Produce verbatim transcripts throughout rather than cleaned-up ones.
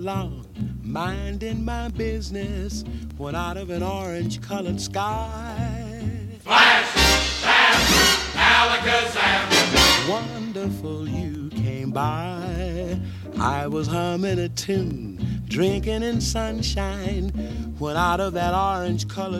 along, minding my business, when out of an orange-colored sky, flash, flash, alakazam, wonderful you came by. I was humming a tune, drinking in sunshine, when out of that orange-colored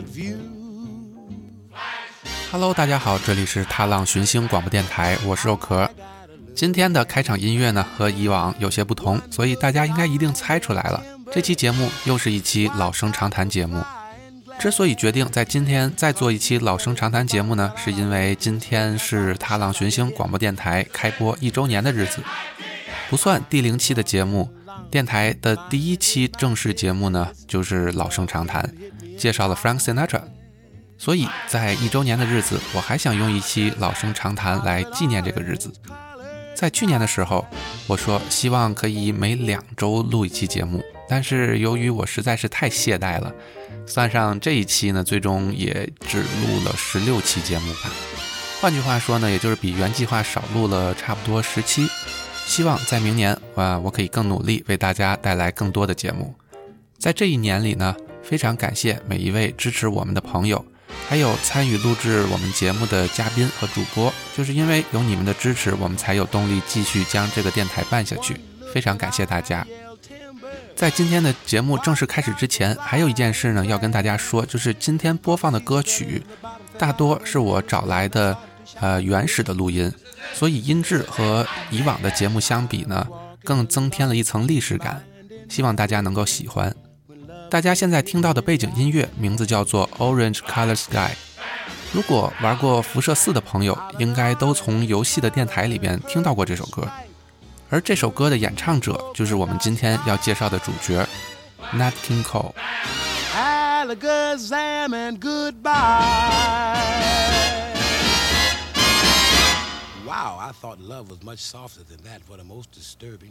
view.Hello， 大家好，这里是踏浪寻星广播电台，我是肉壳。今天的开场音乐呢和以往有些不同，所以大家应该一定猜出来了，这期节目又是一期老生常谈节目。之所以决定在今天再做一期老生常谈节目呢，是因为今天是踏浪寻星广播电台开播一周年的日子。不算第零期的节目，电台的第一期正式节目呢就是老生常谈，介绍了 Frank Sinatra。所以在一周年的日子，我还想用一期老生常谈来纪念这个日子。在去年的时候，我说希望可以每两周录一期节目，但是由于我实在是太懈怠了，算上这一期呢，最终也只录了十六期节目吧。换句话说呢，也就是比原计划少录了差不多十期。希望在明年啊，我可以更努力为大家带来更多的节目。在这一年里呢，非常感谢每一位支持我们的朋友，还有参与录制我们节目的嘉宾和主播，就是因为有你们的支持，我们才有动力继续将这个电台办下去，非常感谢大家。在今天的节目正式开始之前，还有一件事呢要跟大家说，就是今天播放的歌曲大多是我找来的呃原始的录音，所以音质和以往的节目相比呢，更增添了一层历史感，希望大家能够喜欢。大家现在听到的背景音乐名字叫做 Orange Color Sky。 如果玩过辐射四的朋友，应该都从游戏的电台里边听到过这首歌，而这首歌的演唱者就是我们今天要介绍的主角 Nat King Cole。 Alakazam and goodbye. Wow, I thought love was much softer than that. What a most disturbing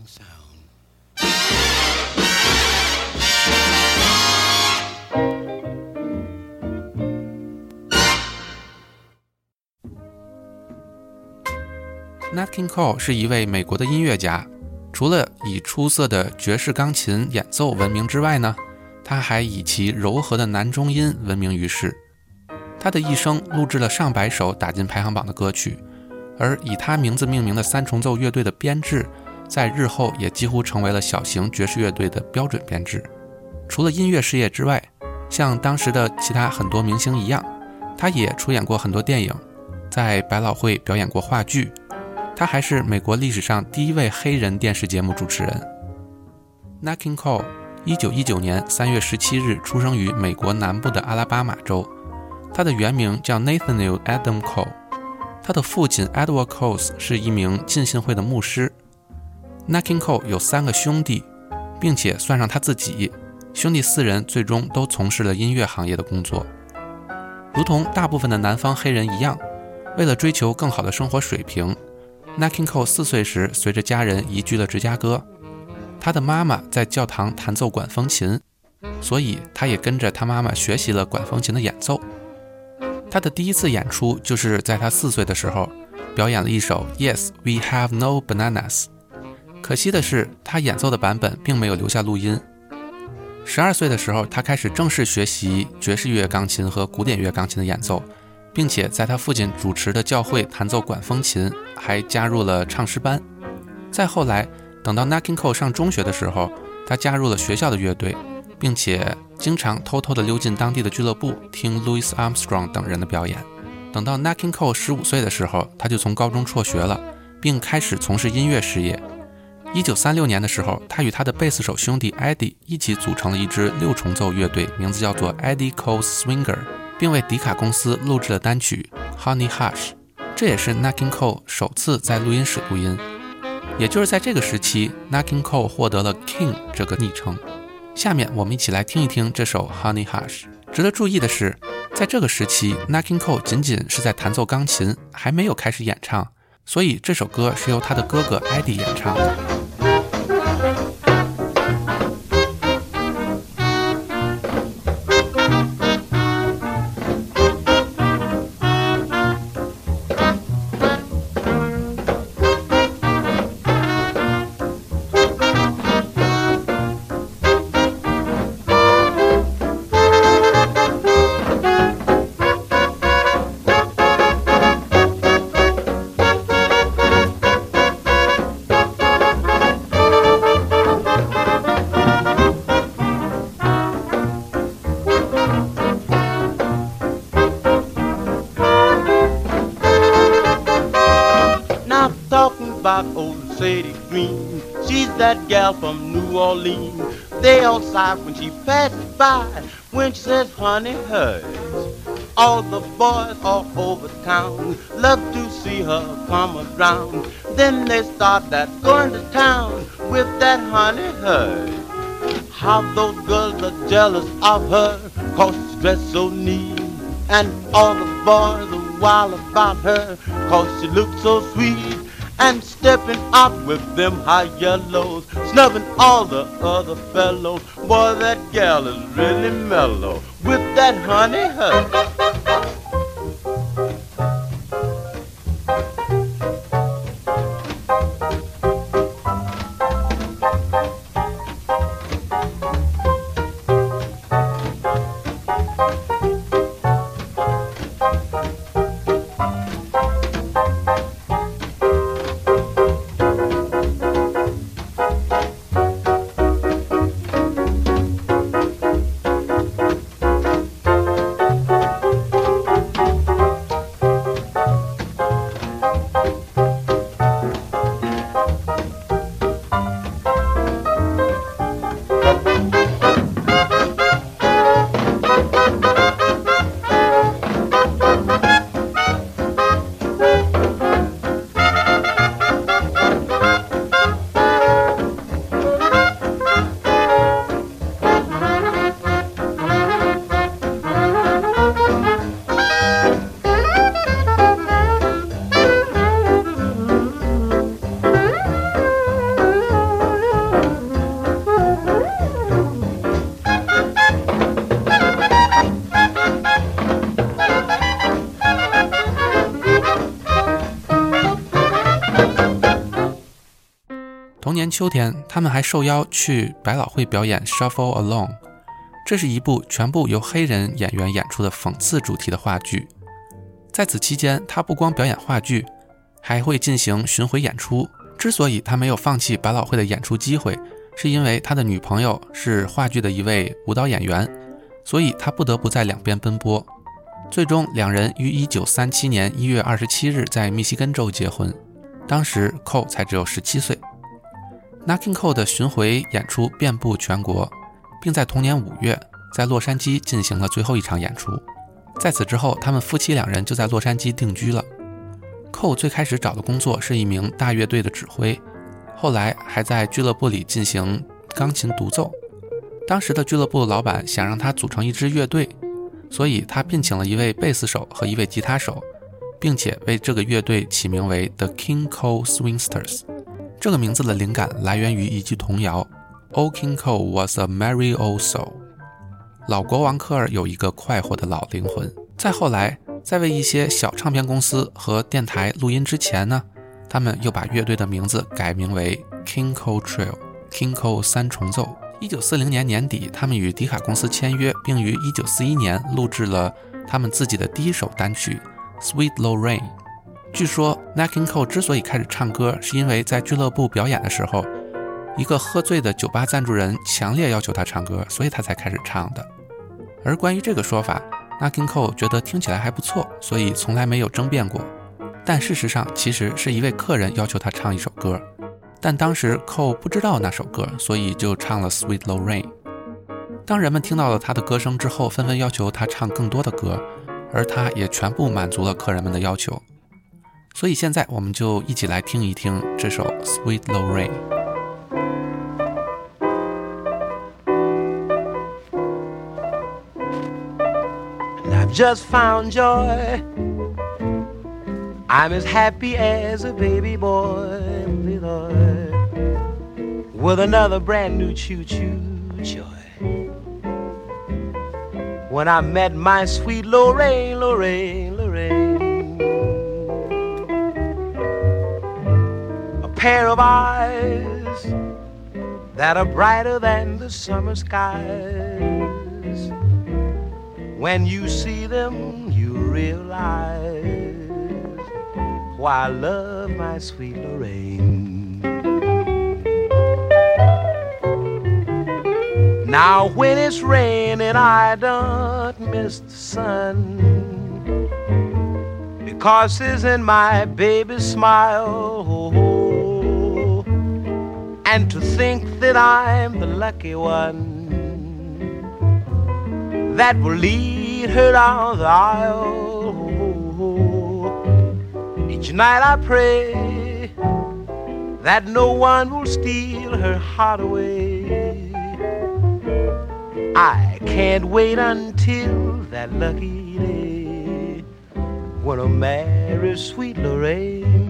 sound.Nat King Cole 是一位美国的音乐家，除了以出色的爵士钢琴演奏闻名之外呢，他还以其柔和的男中音闻名于世。他的一生录制了上百首打进排行榜的歌曲，而以他名字命名的三重奏乐队的编制，在日后也几乎成为了小型爵士乐队的标准编制。除了音乐事业之外，像当时的其他很多明星一样，他也出演过很多电影，在百老汇表演过话剧。他还是美国历史上第一位黑人电视节目主持人。 Nat King Cole 一九一九年三月十七日出生于美国南部的阿拉巴马州，他的原名叫 Nathaniel Adam Cole， 他的父亲 Edward Cole 是一名浸信会的牧师。 Nat King Cole 有三个兄弟，并且算上他自己，兄弟四人最终都从事了音乐行业的工作。如同大部分的南方黑人一样，为了追求更好的生活水平，Nat King Cole 四岁时随着家人移居了芝加哥。他的妈妈在教堂弹奏管风琴，所以他也跟着他妈妈学习了管风琴的演奏。他的第一次演出就是在他四岁的时候，表演了一首 Yes, We Have No Bananas。 可惜的是，他演奏的版本并没有留下录音。十二岁的时候，他开始正式学习爵士乐钢琴和古典乐钢琴的演奏，并且在他父亲主持的教会弹奏管风琴，还加入了唱诗班。再后来，等到 Nat King Cole 上中学的时候，他加入了学校的乐队，并且经常偷偷地溜进当地的俱乐部听 Louis Armstrong 等人的表演。等到 Nat King Cole 十五岁的时候，他就从高中辍学了，并开始从事音乐事业。一九三六年的时候，他与他的贝斯手兄弟 Eddie 一起组成了一支六重奏乐队，名字叫做 Eddie Cole's Swinger， 并为迪卡公司录制了单曲 Honey Hush， 这也是 Nat King Cole 首次在录音室录音。也就是在这个时期， Nat King Cole 获得了 King 这个昵称。下面我们一起来听一听这首 Honey Hush。 值得注意的是，在这个时期 Nat King Cole 仅仅是在弹奏钢琴，还没有开始演唱，所以这首歌是由他的哥哥 Eddie 演唱的。 about old Sadie Green. She's that gal from New Orleans. They all sigh when she passes by, when she says, honey, hers. All the boys all over town love to see her come around. Then they start that going to town with that honey, hers. How those girls are jealous of her, 'cause she's dressed so neat. And all the boys are wild about her, 'cause she looks so sweet. And stepping out with them high yellows, snubbing all the other fellows. Boy, that gal is really mellow with that honey, her. 同年秋天，他们还受邀去百老汇表演 Shuffle Along， 这是一部全部由黑人演员演出的讽刺主题的话剧。在此期间，他不光表演话剧，还会进行巡回演出。之所以他没有放弃百老汇的演出机会，是因为他的女朋友是话剧的一位舞蹈演员，所以他不得不在两边奔波。最终两人于一九三七年一月二十七日在密西根州结婚，当时 Cole 才只有十七岁。Nat King Cole 的巡回演出遍布全国，并在同年五月在洛杉矶进行了最后一场演出。在此之后，他们夫妻两人就在洛杉矶定居了。Cole 最开始找的工作是一名大乐队的指挥，后来还在俱乐部里进行钢琴独奏。当时的俱乐部老板想让他组成一支乐队，所以他聘请了一位贝斯手和一位吉他手，并且为这个乐队起名为 The King Cole Swingsters。这个名字的灵感来源于一句童谣 Old King Cole was a merry old soul， 老国王科尔有一个快活的老灵魂。再后来，在为一些小唱片公司和电台录音之前呢，他们又把乐队的名字改名为 King Cole Trio， King Cole 三重奏。一九四零年年底，他们与迪卡公司签约，并于一九四一年录制了他们自己的第一首单曲 Sweet Lorraine。据说 Nat King Cole 之所以开始唱歌，是因为在俱乐部表演的时候，一个喝醉的酒吧赞助人强烈要求他唱歌，所以他才开始唱的。而关于这个说法， Nat King Cole 觉得听起来还不错，所以从来没有争辩过。但事实上，其实是一位客人要求他唱一首歌，但当时 Cole 不知道那首歌，所以就唱了 Sweet Lorraine。 当人们听到了他的歌声之后，纷纷要求他唱更多的歌，而他也全部满足了客人们的要求。所以现在我们就一起来听一听这首 Sweet Lorraine。 I've just found joy, I'm as happy as a baby boy with another brand new choo-choo joy. When I met my sweet Lorraine, Lorraine, Lorraine, a pair of eyes that are brighter than the summer skies. When you see them, you realize why I love my sweet Lorraine. Now when it's raining, I don't miss the sun, because isn't my baby's smile, oh, And to think that I'm the lucky one that will lead her down the aisle. Each night I pray that no one will steal her heart away. I can't wait until that lucky day when I marry sweet Lorraine.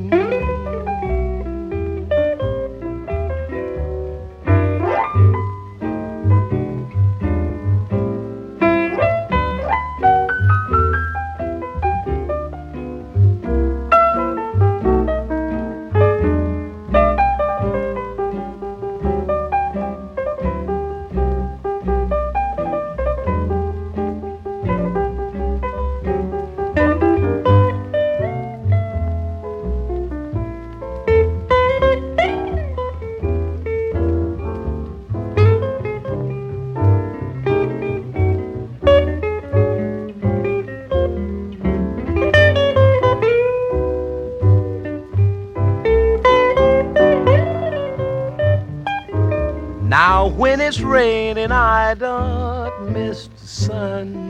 Now when it's raining I don't miss the sun,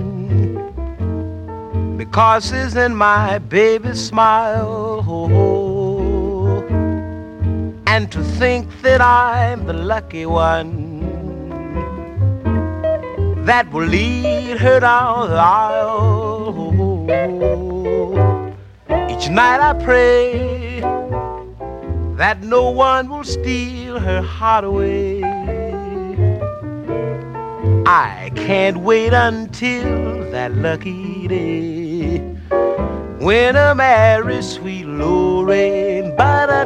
because it's in my baby's smile. Oh, and to think that I'm the lucky one that will lead her down the aisle. Oh, each night I pray that no one will steal her heart away. I can't wait until that lucky day when I marry sweet Lorraine.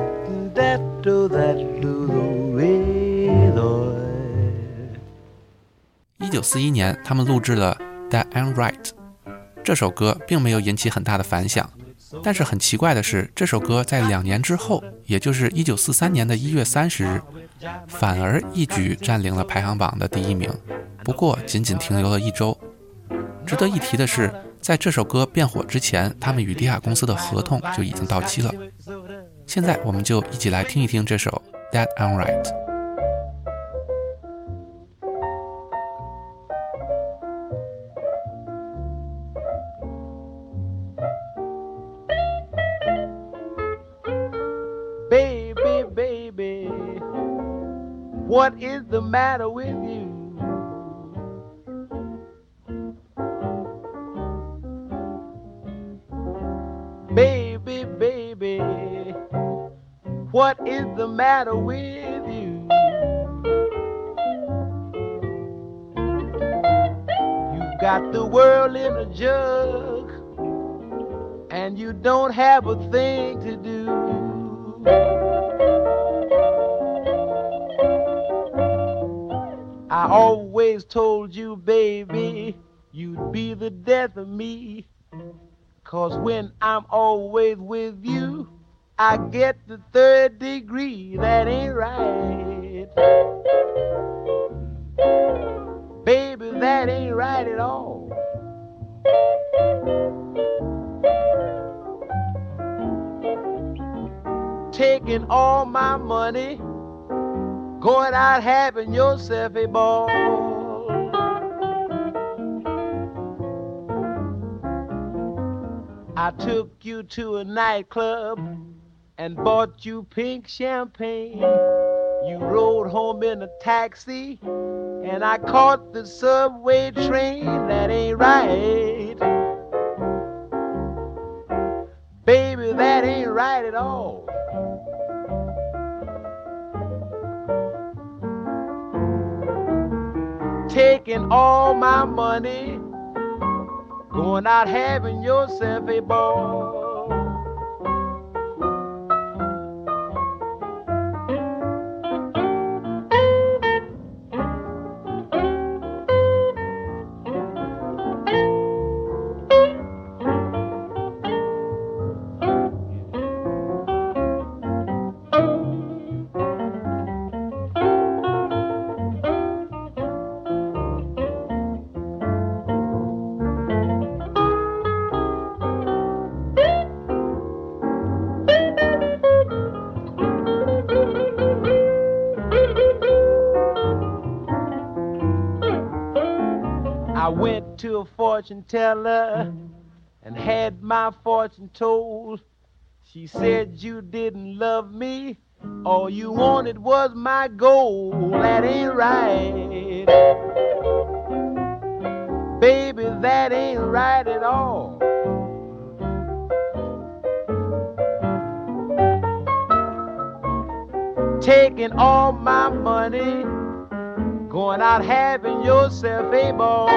Ba-da-da-da-da-da-da-da-da-da. 一九四一年，他们录制了《That Ain't Right》。这首歌并没有引起很大的反响，但是很奇怪的是，这首歌在两年之后，也就是一九四三年的一月三十日，反而一举占领了排行榜的第一名。不过仅仅停留了一周。值得一提的是，在这首歌变火之前，他们与迪卡公司的合同就已经到期了。现在我们就一起来听一听这首《That Ain't Right》。Baby, baby, what is the matter with you? Baby, baby, what is the matter with you? You've got the world in a jug, and you don't have a thing to do. I always told you, baby, you'd be the death of me. 'Cause when I'm always with you, I get the third degree. That ain't right. Baby, that ain't right at all. Taking all my money, going out having yourself a ball. I took you to a nightclub and bought you pink champagne. You rode home in a taxi and I caught the subway train. That ain't right. Baby, that ain't right at all. Taking all my money, going out having yourself a ball. to a fortune teller and had my fortune told. She said you didn't love me, all you wanted was my gold. That ain't right, baby, that ain't right at all. Taking all my money, going out having yourself a ball.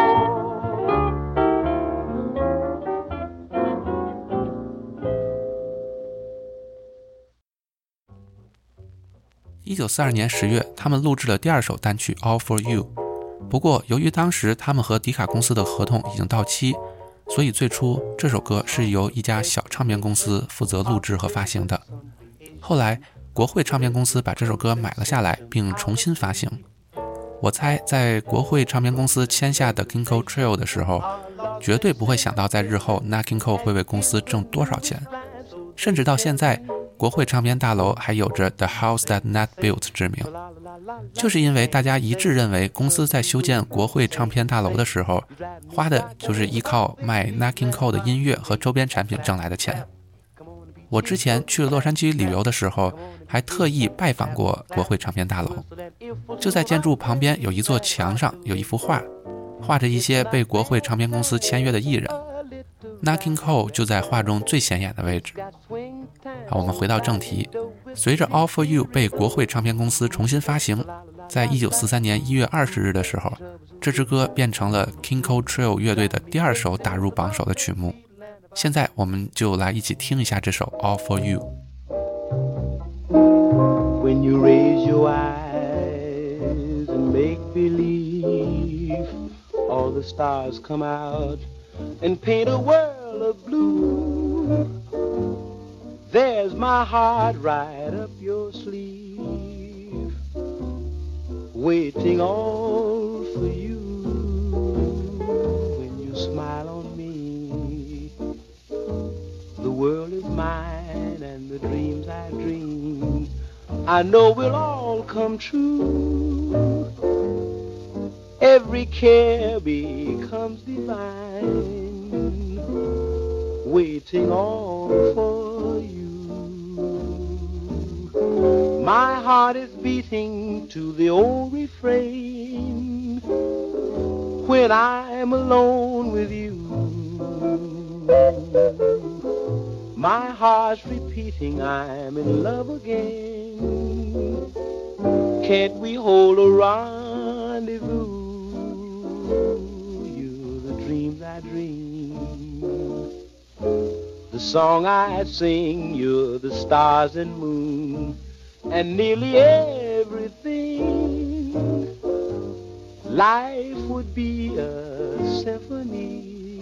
一九四二年十月，他们录制了第二首单曲 All For You。不过，由于当时他们和迪卡公司的合同已经到期，所以最初这首歌是由一家小唱片公司负责录制和发行的。后来，国会唱片公司把这首歌买了下来，并重新发行。我猜，在国会唱片公司签下的 King Cole Trio 的时候，绝对不会想到在日后 Nat King Cole 会为公司挣多少钱。甚至到现在，国会唱片大楼还有着 The House That Nat Built 之名，就是因为大家一致认为公司在修建国会唱片大楼的时候，花的就是依靠卖 Nat King Cole 的音乐和周边产品挣来的钱。我之前去洛杉矶旅游的时候，还特意拜访过国会唱片大楼。就在建筑旁边有一座墙上有一幅画，画着一些被国会唱片公司签约的艺人。Nat King Cole 就在画中最显眼的位置。好，我们回到正题。随着 All For You 被国会唱片公司重新发行，在一九四三年一月二十日的时候，这支歌变成了 King Cole Trio 乐队的第二首打入榜首的曲目。现在我们就来一起听一下这首 All For You。 When you raise your eyes and make believe, all the stars come out and paint a world of blue. There's my heart right up your sleeve, waiting all for you. When you smile on me, the world is mine, and the dreams I dream, I know will all come true. Every care becomes divine, waiting all for you. My heart is beating to the old refrain when I'm alone with you. My heart's repeating I'm in love again. Can't we hold a rendezvous? You're the dreams I dream, the song I sing. You're the stars and moon and nearly everything. Life would be a symphony,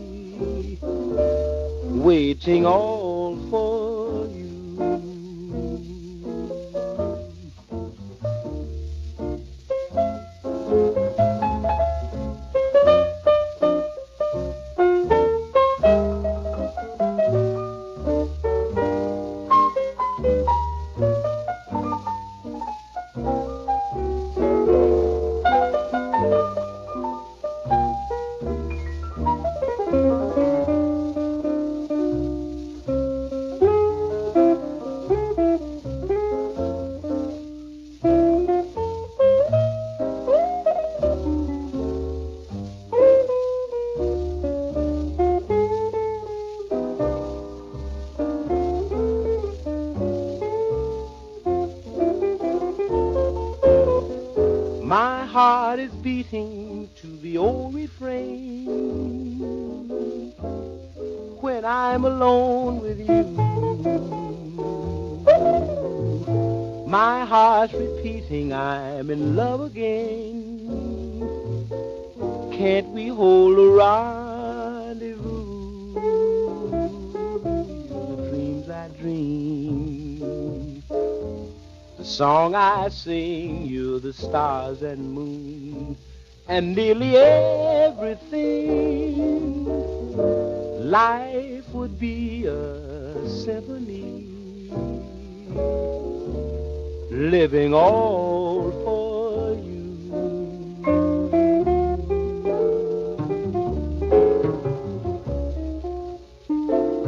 waiting all for you. My heart is beating to the old refrain when I'm alone with you. My heart's repeating I'm in love again. Can't we hold a rendezvous? The dreams I dream, the song I sing. You're the stars and moon and nearly everything. Life would be a symphony, living all for you.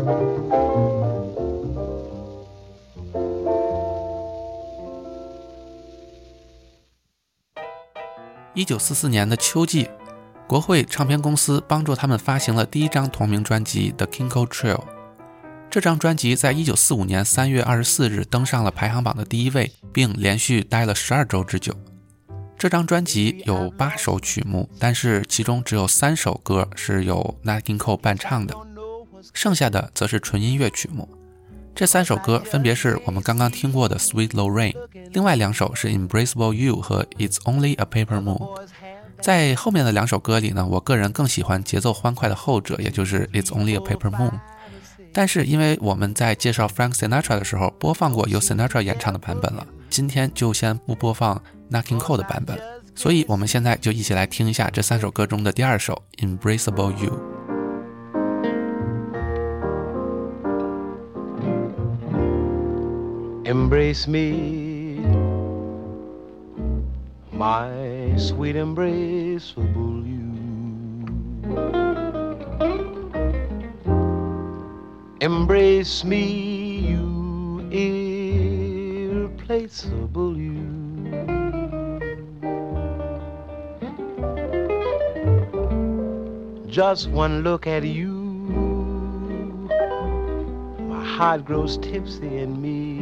一九四四年的秋季，国会唱片公司帮助他们发行了第一张同名专辑《The Kinko Trio》。这张专辑在一九四五年三月二十四日登上了排行榜的第一位，并连续待了十二周之久。这张专辑有八首曲目，但是其中只有三首歌是由 Nat King Cole 伴唱的，剩下的则是纯音乐曲目。这三首歌分别是我们刚刚听过的 Sweet Lorraine， 另外两首是 Embraceable You 和 It's Only a Paper Moon。 在后面的两首歌里呢，我个人更喜欢节奏欢快的后者，也就是 It's Only a Paper Moon。 但是因为我们在介绍 Frank Sinatra 的时候播放过由 Sinatra 演唱的版本了，今天就先不播放 Nat King Cole 的版本，所以我们现在就一起来听一下这三首歌中的第二首 Embraceable You。Embrace me, my sweet embraceable you. Embrace me, you irreplaceable you. Just one look at you, my heart grows tipsy in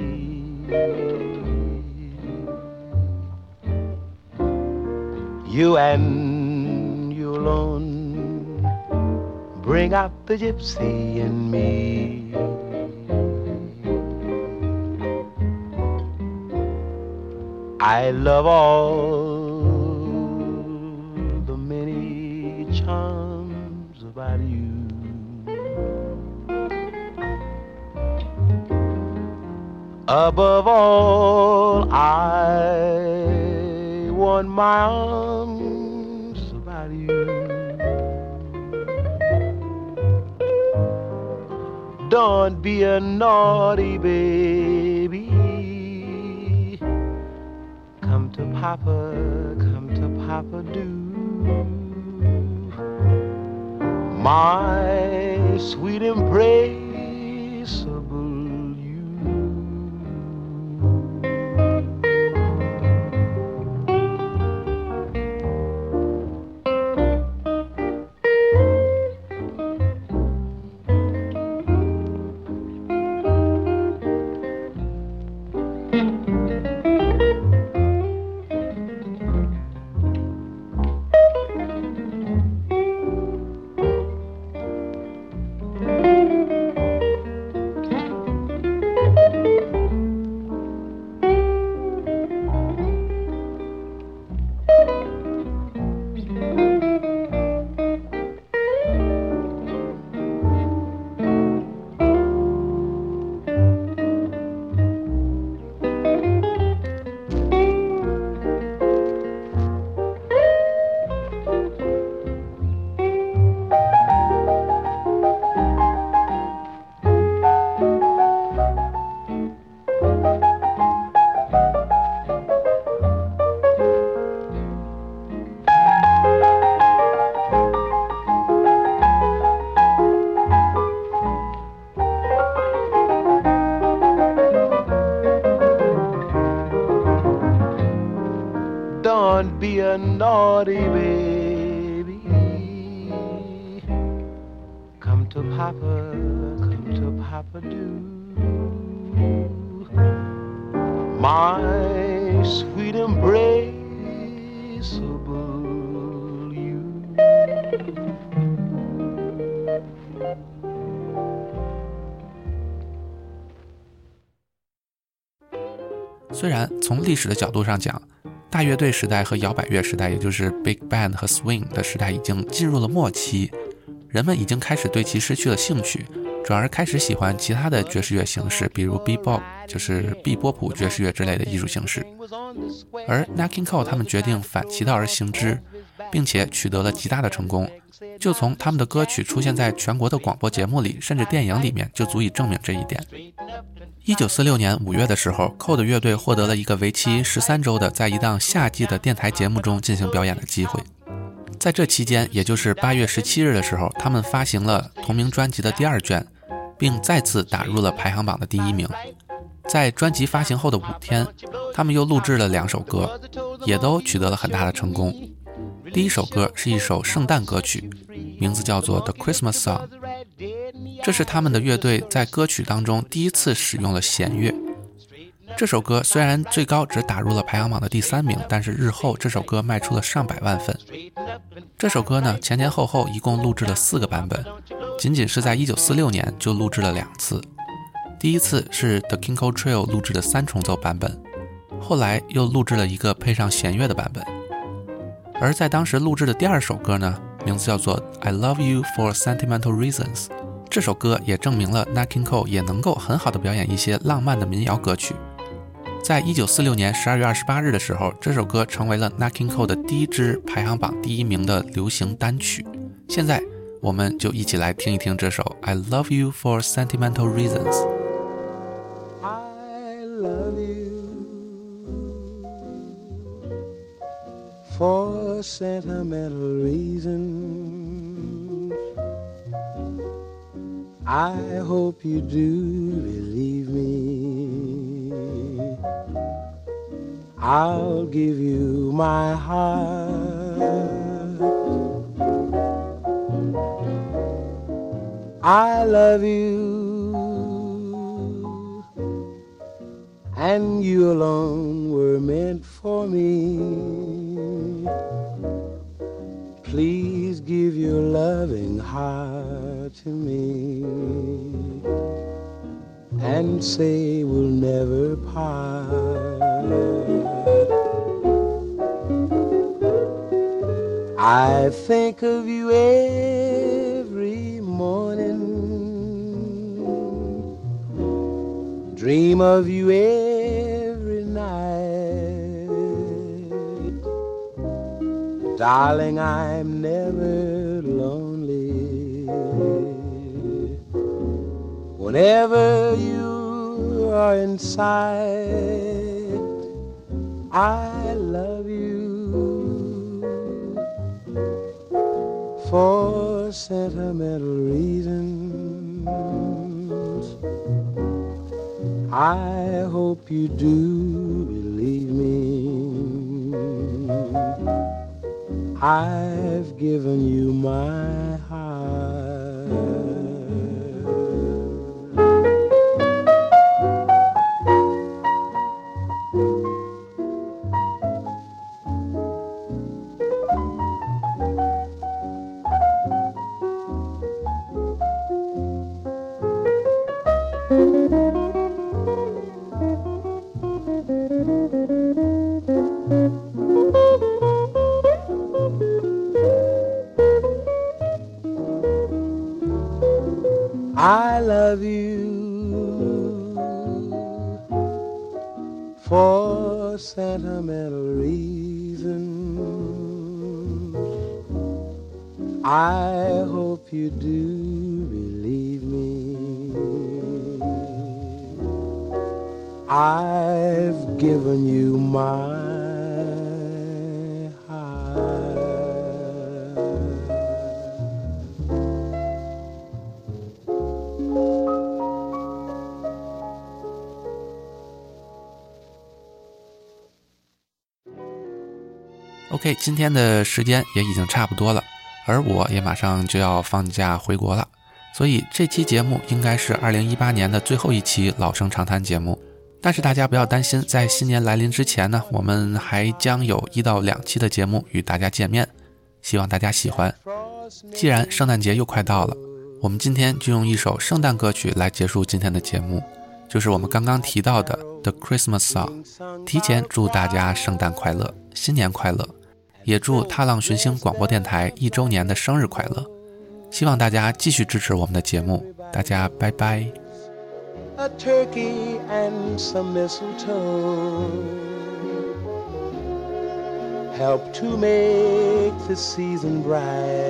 me.You and you alone bring out the gypsy in me. I love all the many charms about you. Above all, I want my arms about you. Don't be a naughty baby. Come to Papa, come to Papa do. My sweet embraceable Don't be a naughty baby. Come to Papa, come to Papa do. My sweet embraceable you. 虽然从历史的角度上讲，大乐队时代和摇摆乐时代，也就是 Big Band 和 Swing 的时代已经进入了末期，人们已经开始对其失去了兴趣，转而开始喜欢其他的爵士乐形式，比如 Bebop， 就是毕波普爵士乐之类的艺术形式。而 Nat King Cole 他们决定反其道而行之，并且取得了极大的成功，就从他们的歌曲出现在全国的广播节目里，甚至电影里面，就足以证明这一点。一九四六年五月的时候， Cole 的乐队获得了一个为期十三周的在一档夏季的电台节目中进行表演的机会。在这期间，也就是八月十七日的时候，他们发行了同名专辑的第二卷， 并再次打入了排行榜的第一名。在专辑发行后的五天，他们又录制了两首歌，也都取得了很大的成功。第一首歌是一首圣诞歌曲，名字叫做 The Christmas Song， 这是他们的乐队在歌曲当中第一次使用了弦乐。这首歌虽然最高只打入了排行榜的第三名，但是日后这首歌卖出了上百万份。这首歌呢，前前后后一共录制了四个版本，仅仅是在一九四六年就录制了两次。第一次是 The King Cole Trio 录制的三重奏版本，后来又录制了一个配上弦乐的版本。而在当时录制的第二首歌呢，名字叫做 I Love You for Sentimental Reasons， 这首歌也证明了 Nat King Cole 也能够很好的表演一些浪漫的民谣歌曲。在一九四六年十二月二十八日的时候，这首歌成为了 Nat King Cole 的第一支排行榜第一名的流行单曲。现在我们就一起来听一听这首 I Love You for Sentimental Reasons。 I love you for sentimental reasons. I hope you do believe me. I'll give you my heart. I love you, and you alone were meant for me. Please give your loving heart to me, and say we'll never part. I think of you every morning, dream of you every night. Darling, I'm never lonely whenever you are in sight. I love you for sentimental reasons. I hope you do believe me. I've given you my heart. I love you for sentimental reasons. I hope you do believe me. I've given you my OK， 今天的时间也已经差不多了，而我也马上就要放假回国了，所以这期节目应该是二零一八年的最后一期老生常谈节目。但是大家不要担心，在新年来临之前呢，我们还将有一到两期的节目与大家见面，希望大家喜欢。既然圣诞节又快到了，我们今天就用一首圣诞歌曲来结束今天的节目，就是我们刚刚提到的 The Christmas Song。 提前祝大家圣诞快乐，新年快乐，也祝踏浪寻星广播电台一周年的生日快乐。希望大家继续支持我们的节目，大家拜拜。 A turkey and some mistletoe help to make the season bright.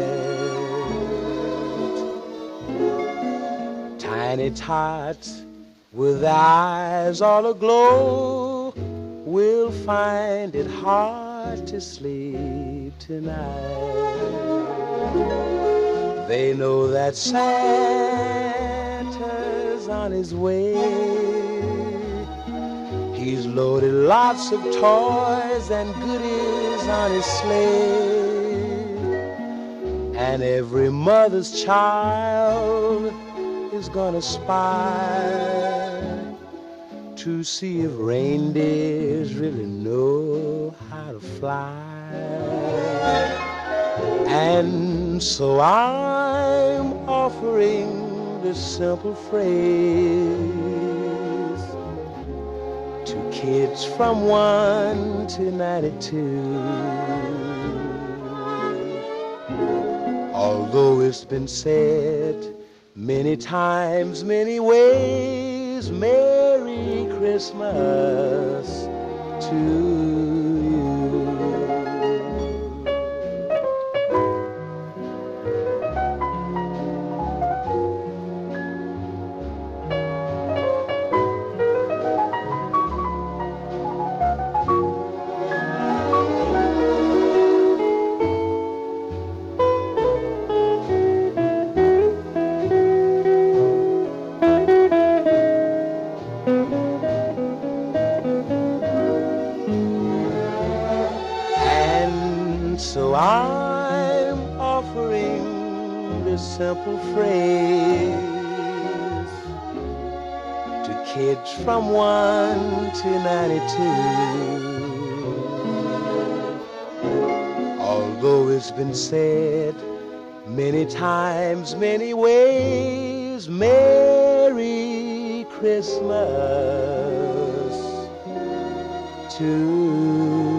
Tiny tots with eyes all aglow will find it hard to sleep tonight. They know that Santa is on his way. He's loaded lots of toys and goodies on his sleigh. And every mother's child is gonna spy to see if reindeers really know how to fly. And so I'm offering this simple phrase to kids from one to ninety-two. Although it's been said many times, many ways, Merry Christmas to you. So I'm offering this simple phrase to kids from one to ninety-two. Although it's been said many times, many ways, Merry Christmas to